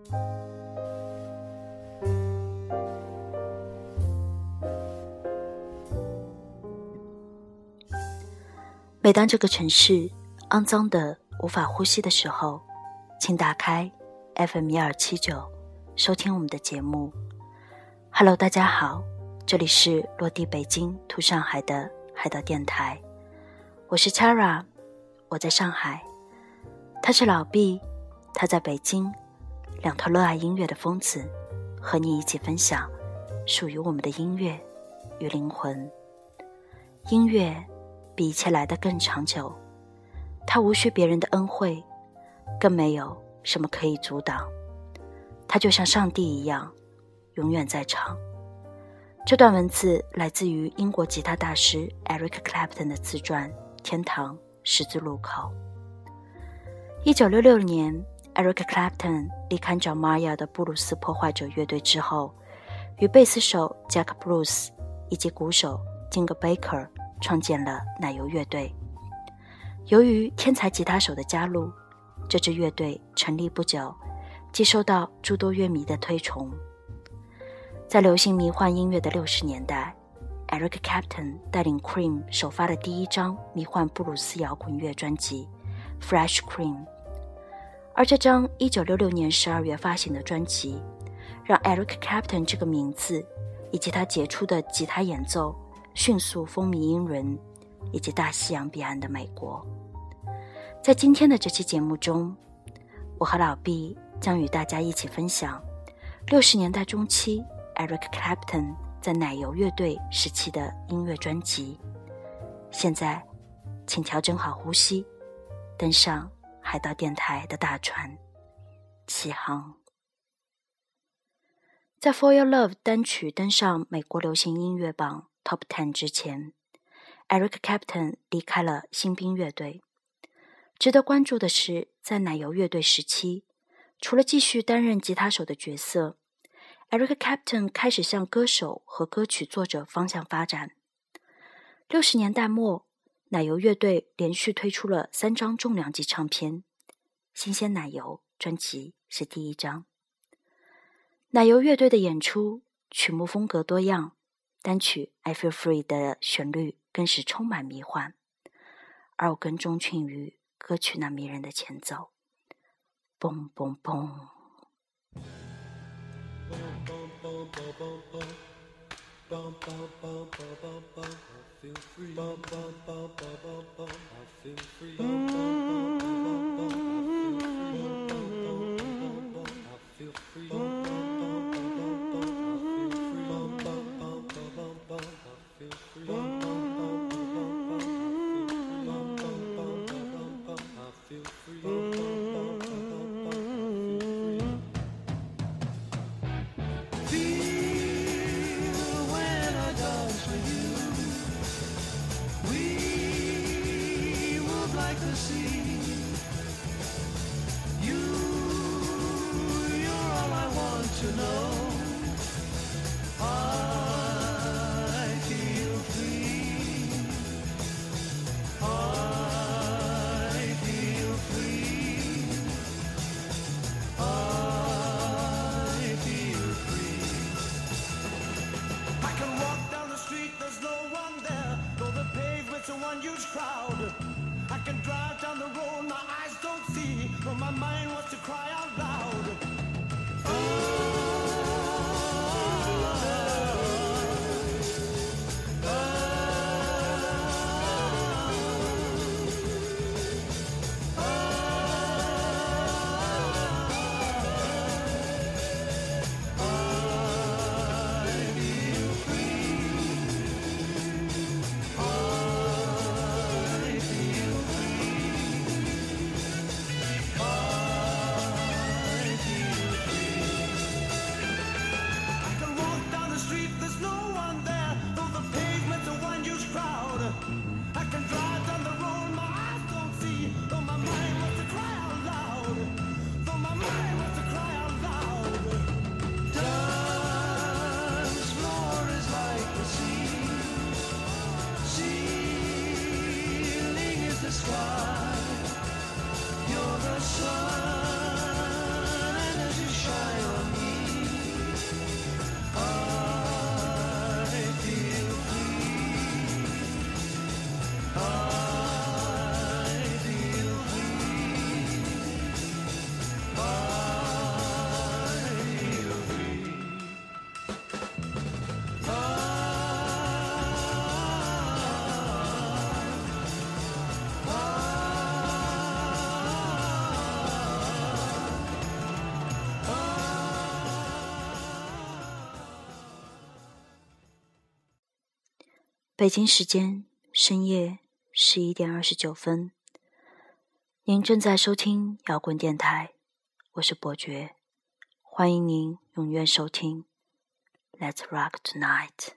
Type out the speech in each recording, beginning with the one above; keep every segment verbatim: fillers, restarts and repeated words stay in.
每当这个城市肮脏的无法呼吸的时候，请打开 F M 一二七九，收听我们的节目。Hello， 大家好，这里是落地北京土上海的海岛电台，我是 Chara， 我在上海，他是老毕，他在北京，两头热爱音乐的疯子，和你一起分享属于我们的音乐与灵魂。音乐比一切来得更长久，它无需别人的恩惠，更没有什么可以阻挡，它就像上帝一样永远在场。这段文字来自于英国吉他大师 Eric Clapton 的自传《天堂十字路口》。一九六六年 Eric Clapton 离开 John Mayer 的布鲁斯破坏者乐队之后，与贝斯手 Jack Bruce 以及鼓手 Ginger Baker 创建了奶油乐队。由于天才吉他手的加入，这支乐队成立不久，即受到诸多乐迷的推崇。在流行迷幻音乐的六十年代， Eric Clapton 带领 Cream 首发的第一张迷幻布鲁斯摇滚乐专辑 Fresh Cream， 而这张一九六六年十二月发行的专辑让 Eric Clapton 这个名字以及他杰出的吉他演奏迅速风靡英伦以及大西洋彼岸的美国。在今天的这期节目中，我和老毕将与大家一起分享六十年代中期 Eric Clapton 在奶油乐队时期的音乐专辑。现在请调整好呼吸，登上海盗电台的大船，起航。在 For Your Love 单曲登上美国流行音乐榜 Top 十之前， Eric Clapton 离开了新兵乐队。值得关注的是，在奶油乐队时期，除了继续担任吉他手的角色， Eric Clapton 开始向歌手和歌曲作者方向发展。六十年代末，奶油乐队连续推出了三张重量级唱片，新鲜奶油专辑是第一张。奶油乐队的演出曲目风格多样，单曲 I Feel Free 的旋律更是充满迷幻，而我更钟情于歌曲那迷人的前奏，嘣嘣嘣。 北京时间深夜十一点二十九分，您正在收听摇滚电台，我是伯爵，欢迎您踊跃收听 Let's Rock Tonight。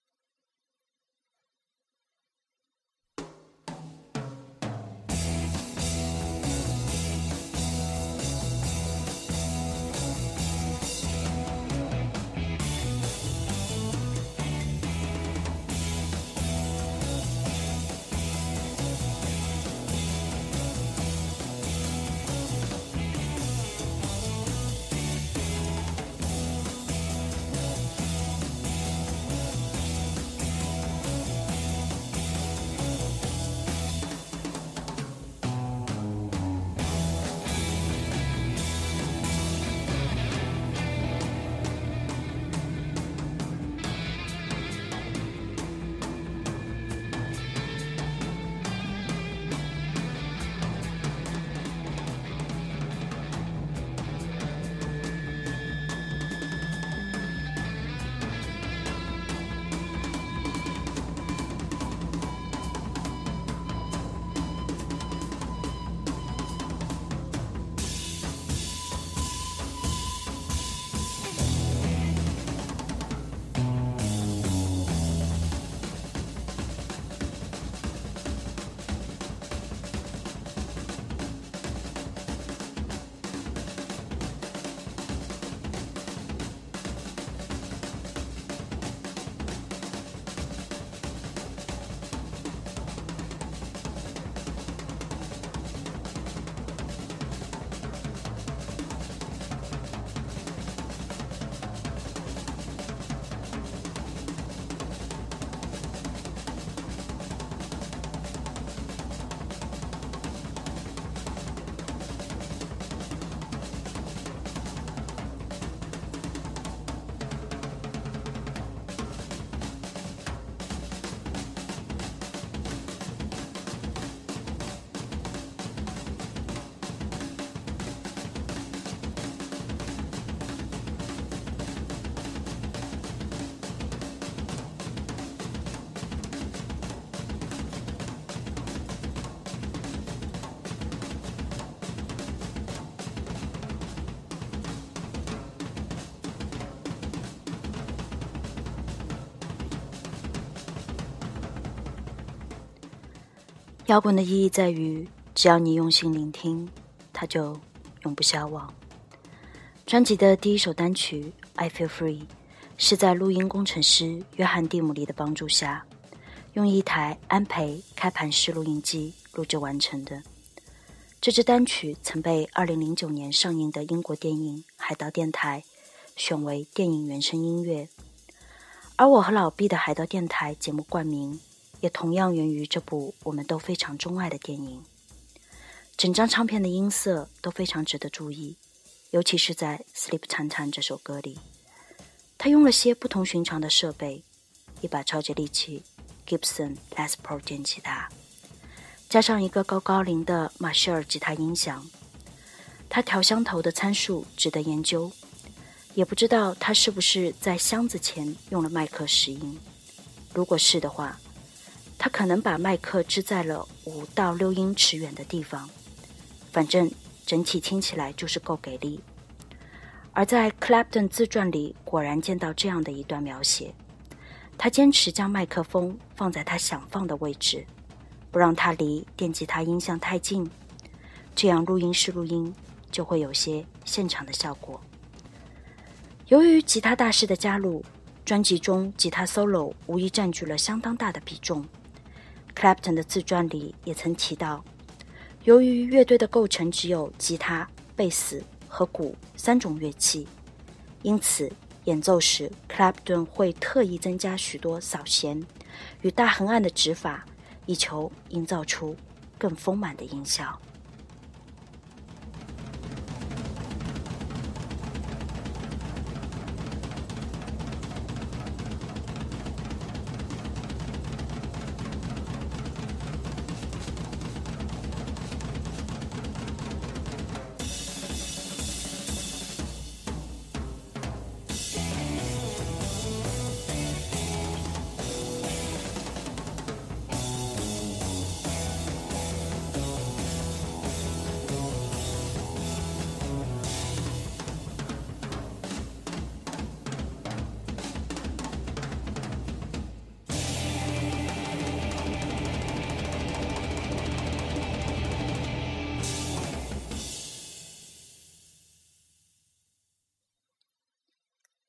摇滚的意义在于，只要你用心聆听，它就永不消亡。专辑的第一首单曲《I Feel Free》是在录音工程师约翰·蒂姆利的帮助下，用一台安培开盘式录音机录制完成的。这支单曲曾被二零零九年上映的英国电影《海盗电台》选为电影原声音乐，而我和老毕的海盗电台节目冠名也同样源于这部我们都非常钟爱的电影。整张唱片的音色都非常值得注意，尤其是在 Sleep Titan 这首歌里，他用了些不同寻常的设备，一把超级利器 Gibson Les Paul 电吉他，加上一个高高龄的马歇尔吉他音响。他调箱头的参数值得研究，也不知道他是不是在箱子前用了麦克拾音，如果是的话，他可能把麦克支在了五到六英尺远的地方，反正整体听起来就是够给力。而在 Clapton 自传里果然见到这样的一段描写，他坚持将麦克风放在他想放的位置，不让它离电吉他音箱太近，这样录音室录音就会有些现场的效果。由于吉他大师的加入，专辑中吉他 solo 无疑占据了相当大的比重。Clapton 的自传里也曾提到，由于乐队的构成只有吉他、贝斯和鼓三种乐器，因此演奏时 Clapton 会特意增加许多扫弦与大横按的指法，以求营造出更丰满的音效。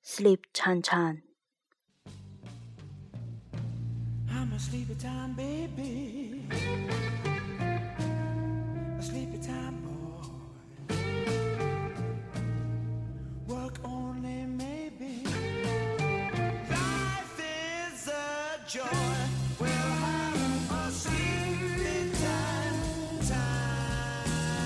Sleep Time Time。 I'm a sleepy time baby, a sleepy time boy. Work only maybe. Life is a joy. We'll have a sleepy time, time.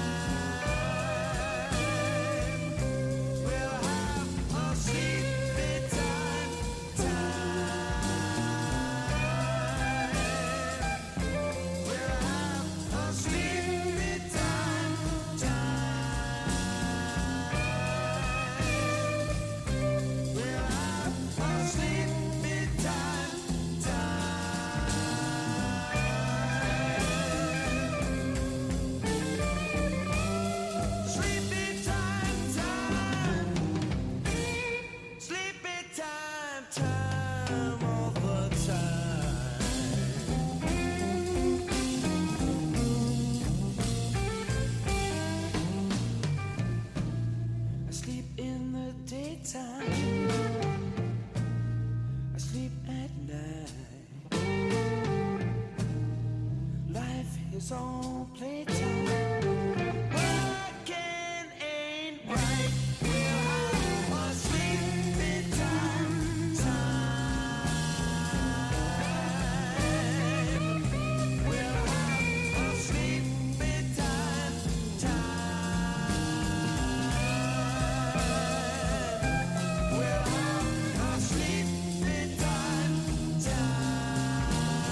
We'll have a sleepy time, time. We'll have a sleepy time, time. We'll have a sleepy time, time. Sleepy time, time. Sleepy time, time all the time. I sleep in the daytime, I sleep at night. Life is all playtime. Working ain't right. We'll have a sleepy time, time. We'll have a sleepy time, time. We'll have a sleepy time, time.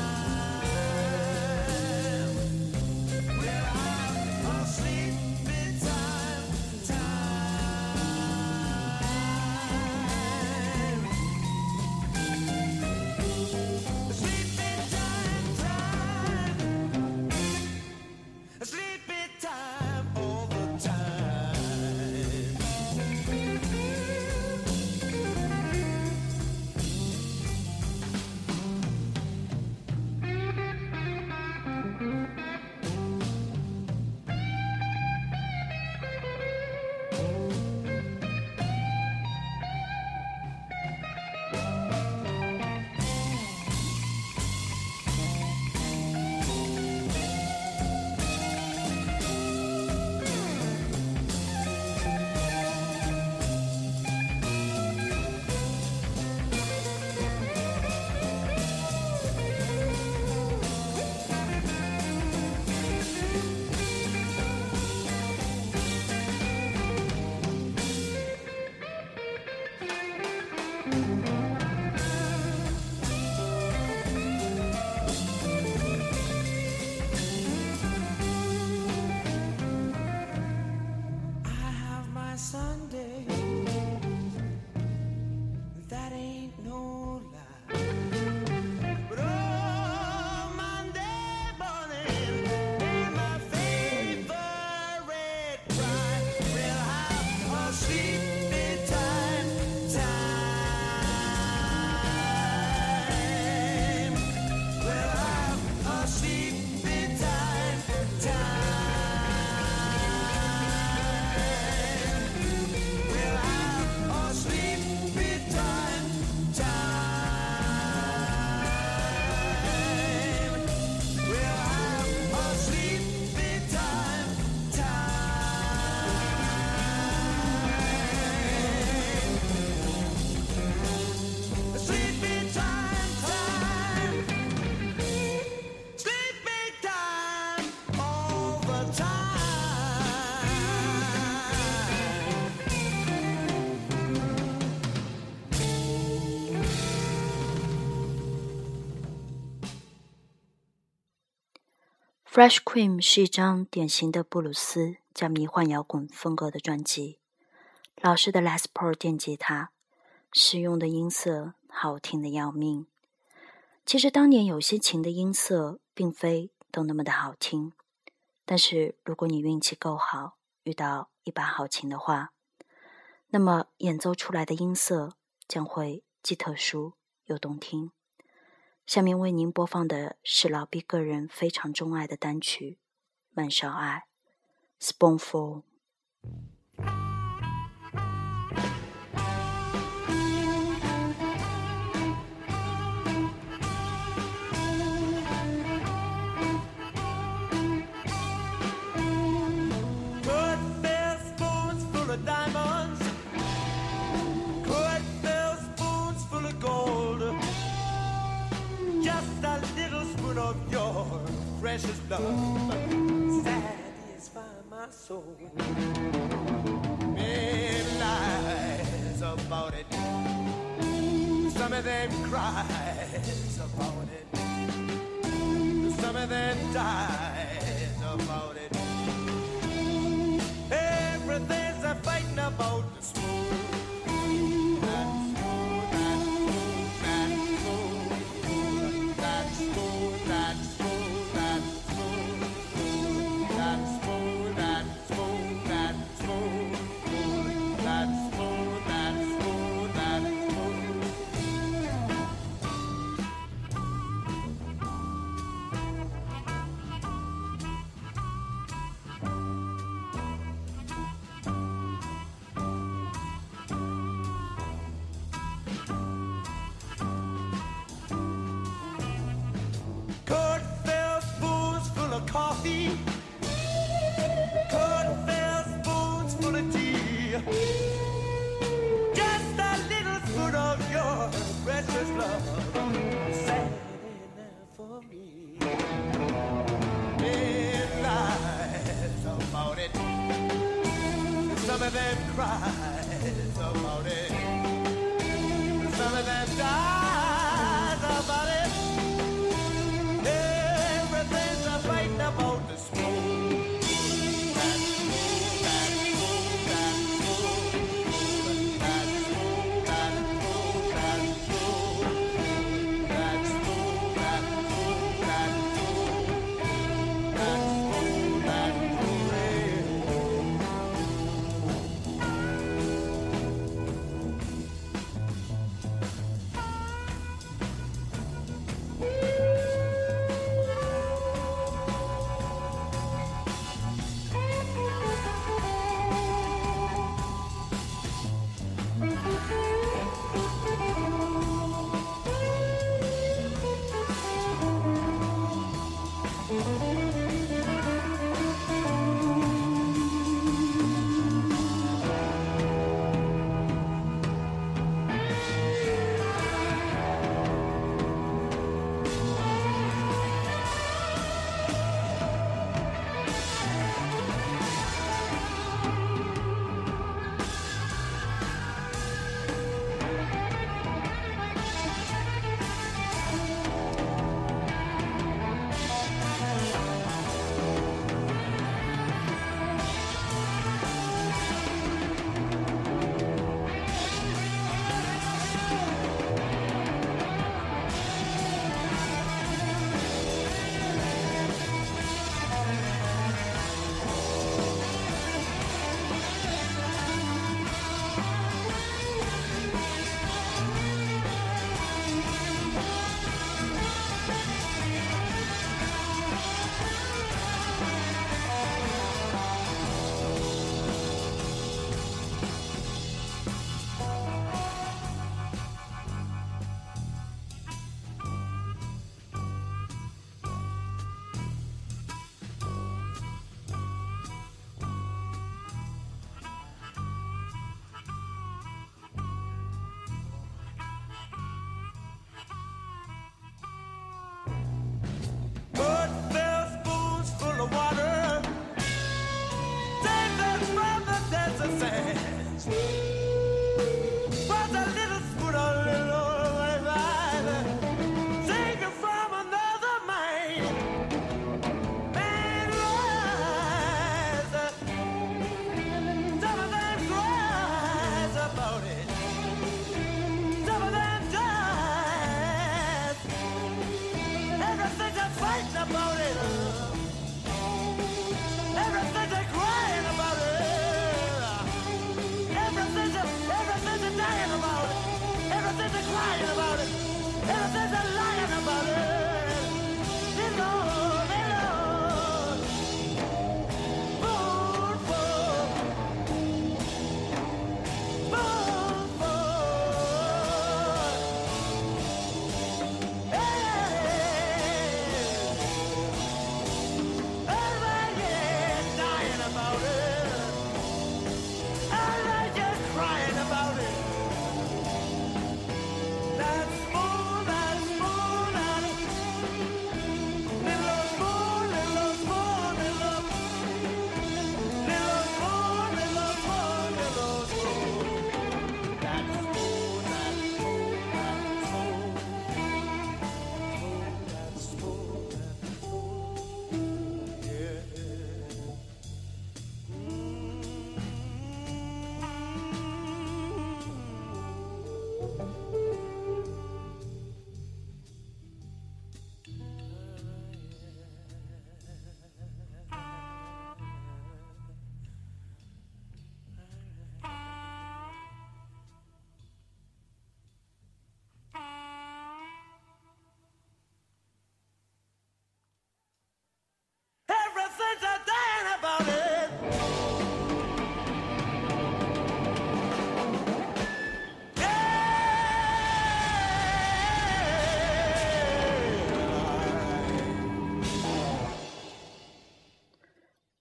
We'll have a sleepy time, time. Sleepy time, time. Sleepy time all the time. I have my Sunday, that ain't no lie. But oh, Monday morning ain't my favorite ride. We'll have a sleepy time, time. We'll have a sleepy time, time. We'll have a sleepy time, time. We'll have a sleepy time, time. Sleepy time, time. Sleepy time all the time. Fresh Cream 是一张典型的布鲁斯加迷幻摇滚风格的专辑，老式的 Les Paul 电吉他，使用的音色好听的要命。其实当年有些琴的音色并非都那么的好听，但是如果你运气够好，遇到一把好琴的话，那么演奏出来的音色将会既特殊又动听。下面为您播放的是老毕个人非常钟爱的单曲《慢烧爱》 Spoonful。 precious love satisfy my soul. Many lies about it, some of them cries about it, some of them dies about it. Everything's a fighting about the smooth.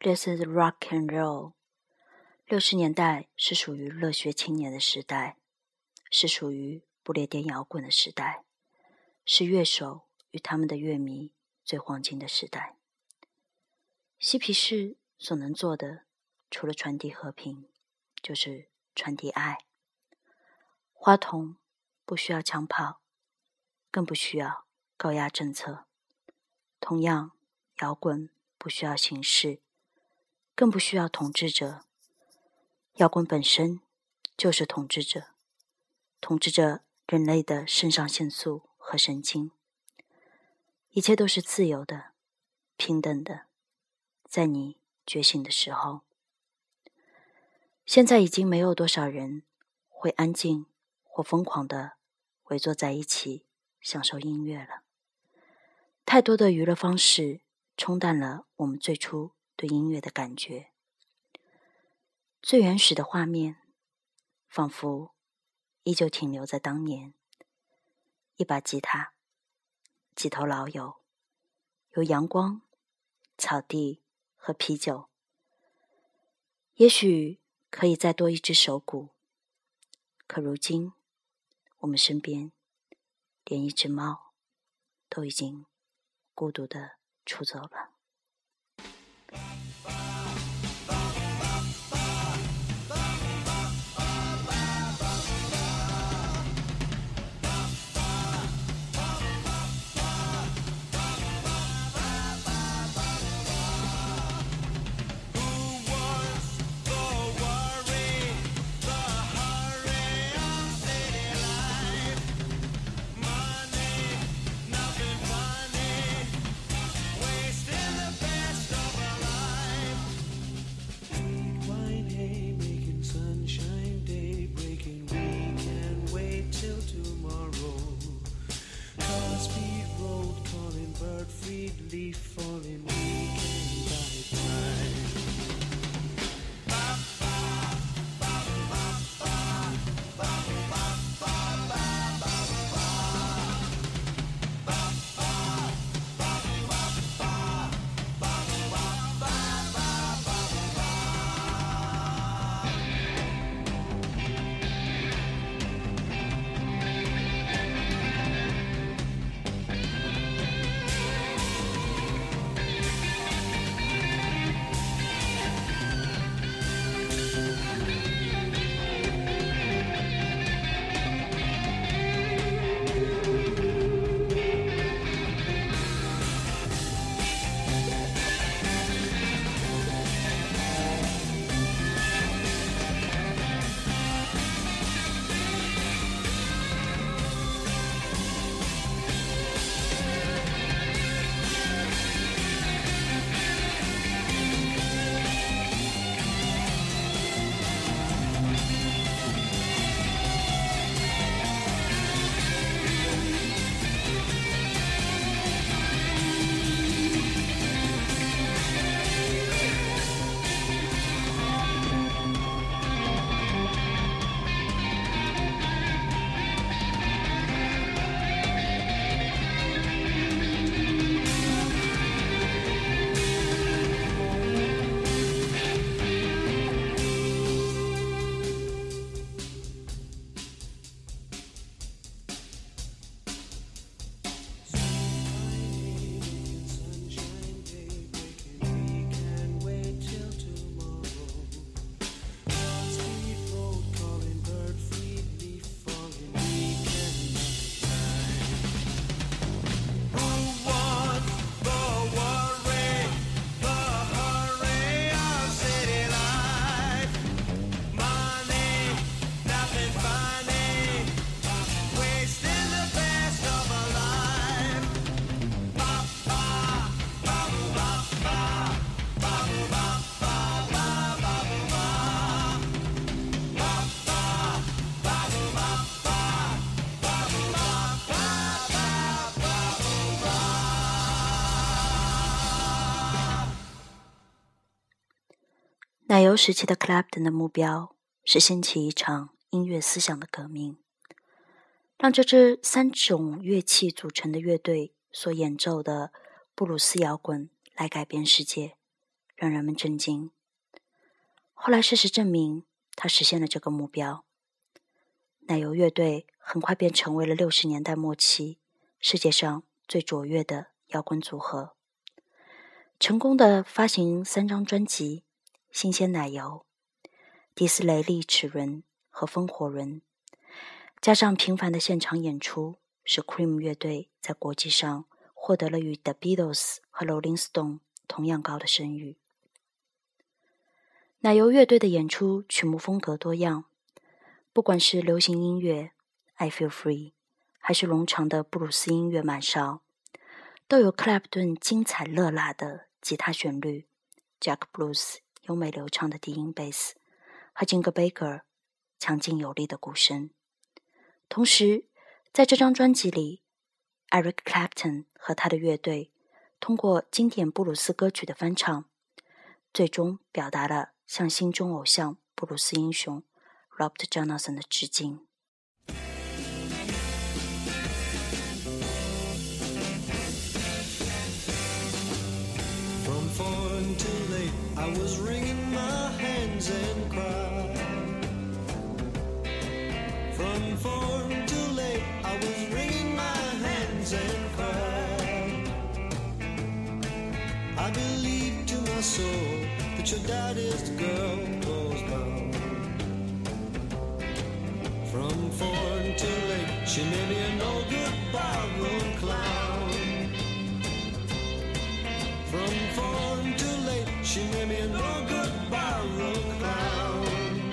This is rock and roll。六十年代是属于热血青年的时代，是属于不列颠摇滚的时代，是乐手与他们的乐迷最黄金的时代。嬉皮士所能做的，除了传递和平，就是传递爱。花童不需要枪炮，更不需要高压政策。同样，摇滚不需要形式，更不需要统治者。摇滚本身就是统治者，统治着人类的肾上腺素和神经。一切都是自由的，平等的，在你觉醒的时候。现在已经没有多少人会安静或疯狂地围坐在一起享受音乐了。太多的娱乐方式冲淡了我们最初对音乐的感觉。最原始的画面仿佛依旧停留在当年，一把吉他，几头老友，有阳光、草地和啤酒。也许可以再多一只手鼓，可如今我们身边连一只猫都已经孤独地出走了。奶油时期的 Clapton 的目标是掀起一场音乐思想的革命，让这支三种乐器组成的乐队所演奏的布鲁斯摇滚来改变世界， 让人们震惊。后来事实证明，他实现了这个目标。奶油乐队很快便成为了六十年代末期世界上最卓越的摇滚组合，成功的发行三张专辑：新鲜奶油、迪斯雷利齿轮和风火轮，加上频繁的现场演出，使 Cream 乐队在国际上获得了与 The Beatles 和 Rolling Stone 同样高的声誉。奶油乐队的演出曲目风格多样，不管是流行音乐 I Feel Free 还是冗长的布鲁斯音乐满勺，都有克莱普顿精彩热辣的吉他旋律， Jack Bruce 优美流畅的低音贝斯和 Ginger Baker 强劲有力的鼓声。同时在这张专辑里， Eric Clapton 和他的乐队通过经典布鲁斯歌曲的翻唱，最终表达了向心中偶像布鲁斯英雄 Robert Johnson 的致敬。 From foreign to late, I was wringing my hands and cried. From foreign to late, I was wringing my hands and cried. I believed to my soul that your daddy's girl was bound. From foreign to late, she made me a no-good barroom clown. From foreign to late, she made me a no-good barroom clown.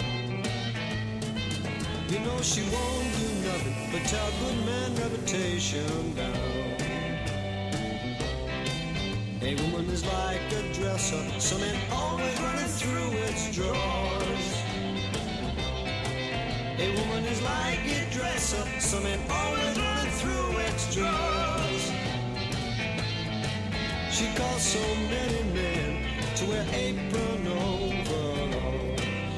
You know she won't do nothing but tear good man reputation down. A woman is like a dresser, some man always running through its drawers. A woman is like a dresser, some man always running through its drawers. She caused so many men to wear apron overalls.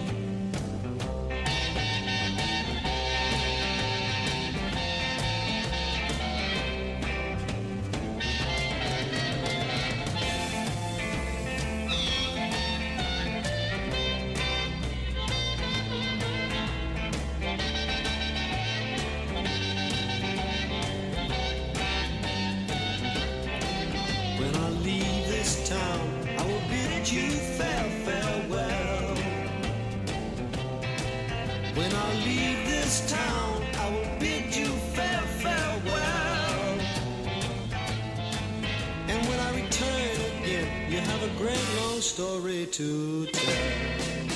When I leave this town, I will bid you fair farewell. When I leave this town, I will bid you fair farewell. And when I return again, you have a great long story to tell.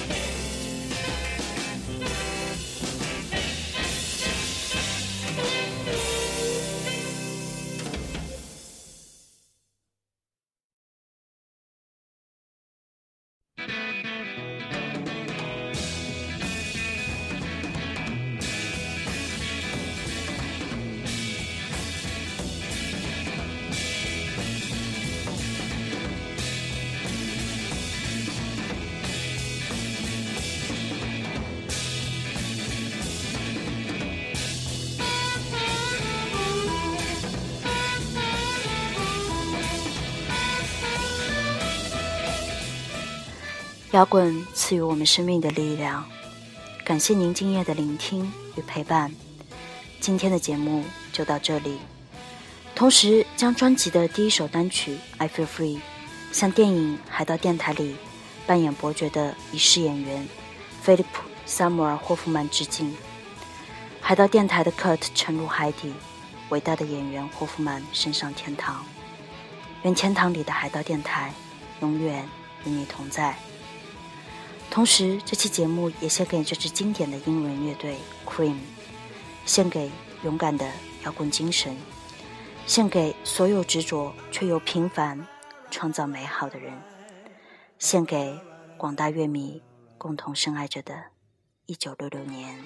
摇滚赐予我们生命的力量，感谢您今夜的聆听与陪伴。今天的节目就到这里，同时将专辑的第一首单曲 I Feel Free 向电影《海盗电台》里扮演伯爵的已逝演员菲利普·萨姆尔·霍夫曼致敬。海盗电台的 Kurt 沉入海底，伟大的演员霍夫曼升上天堂。愿天堂里的海盗电台永远与你同在。同时这期节目也献给这支经典的英伦乐队 Cream， 献给勇敢的摇滚精神，献给所有执着却又平凡创造美好的人，献给广大乐迷共同深爱着的一九六六年。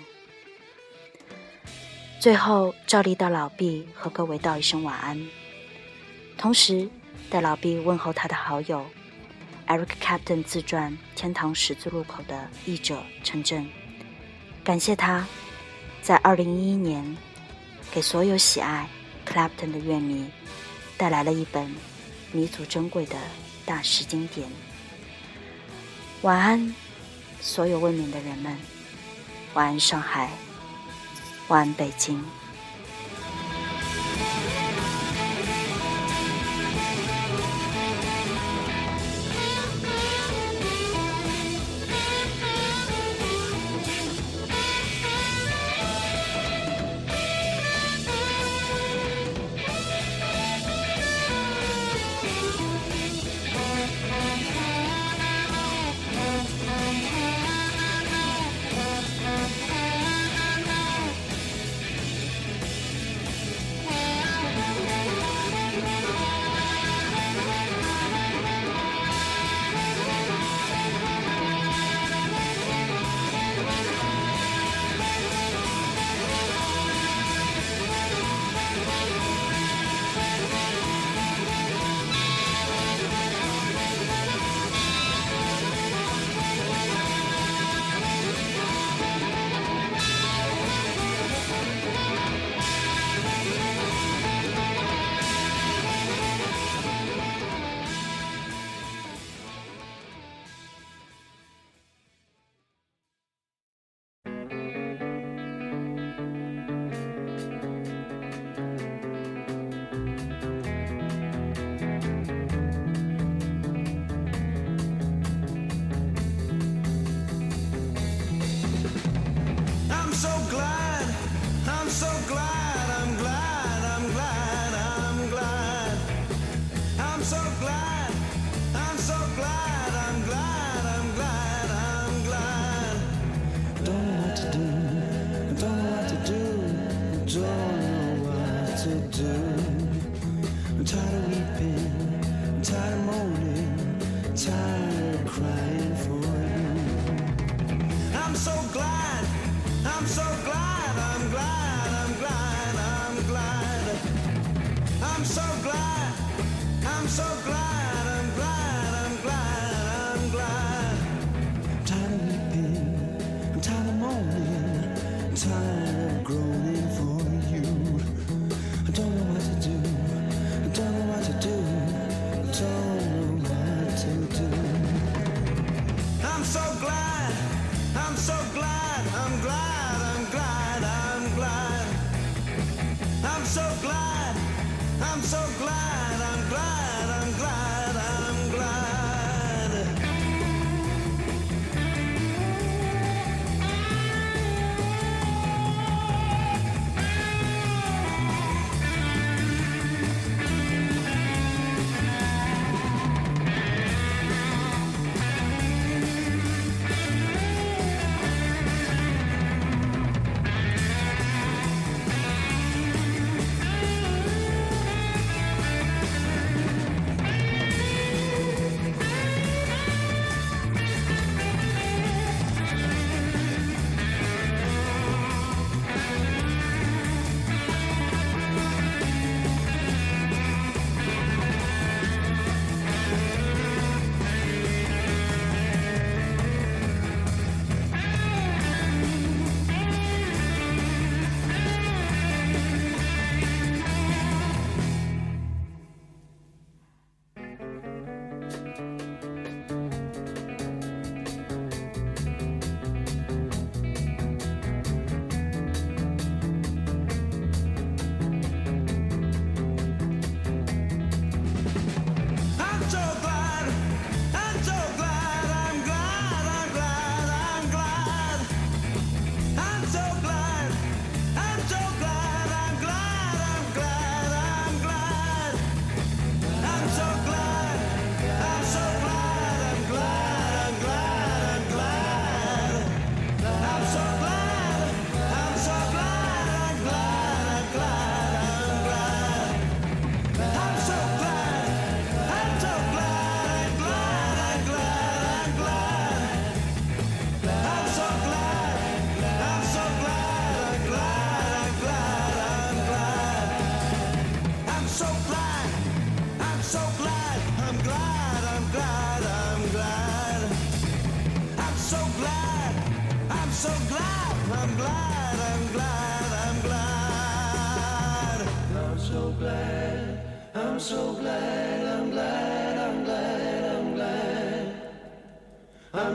最后照例到老毕和各位道一声晚安，同时带老毕问候他的好友Eric Clapton 自传《天堂十字路口》的译者陈震，感谢他在二零一一年给所有喜爱 Clapton 的乐迷带来了一本弥足珍贵的大师经典。 晚安，所有未眠的人们，晚安上海，晚安北京。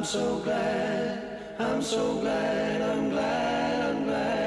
so glad, I'm so glad, I'm glad, I'm glad.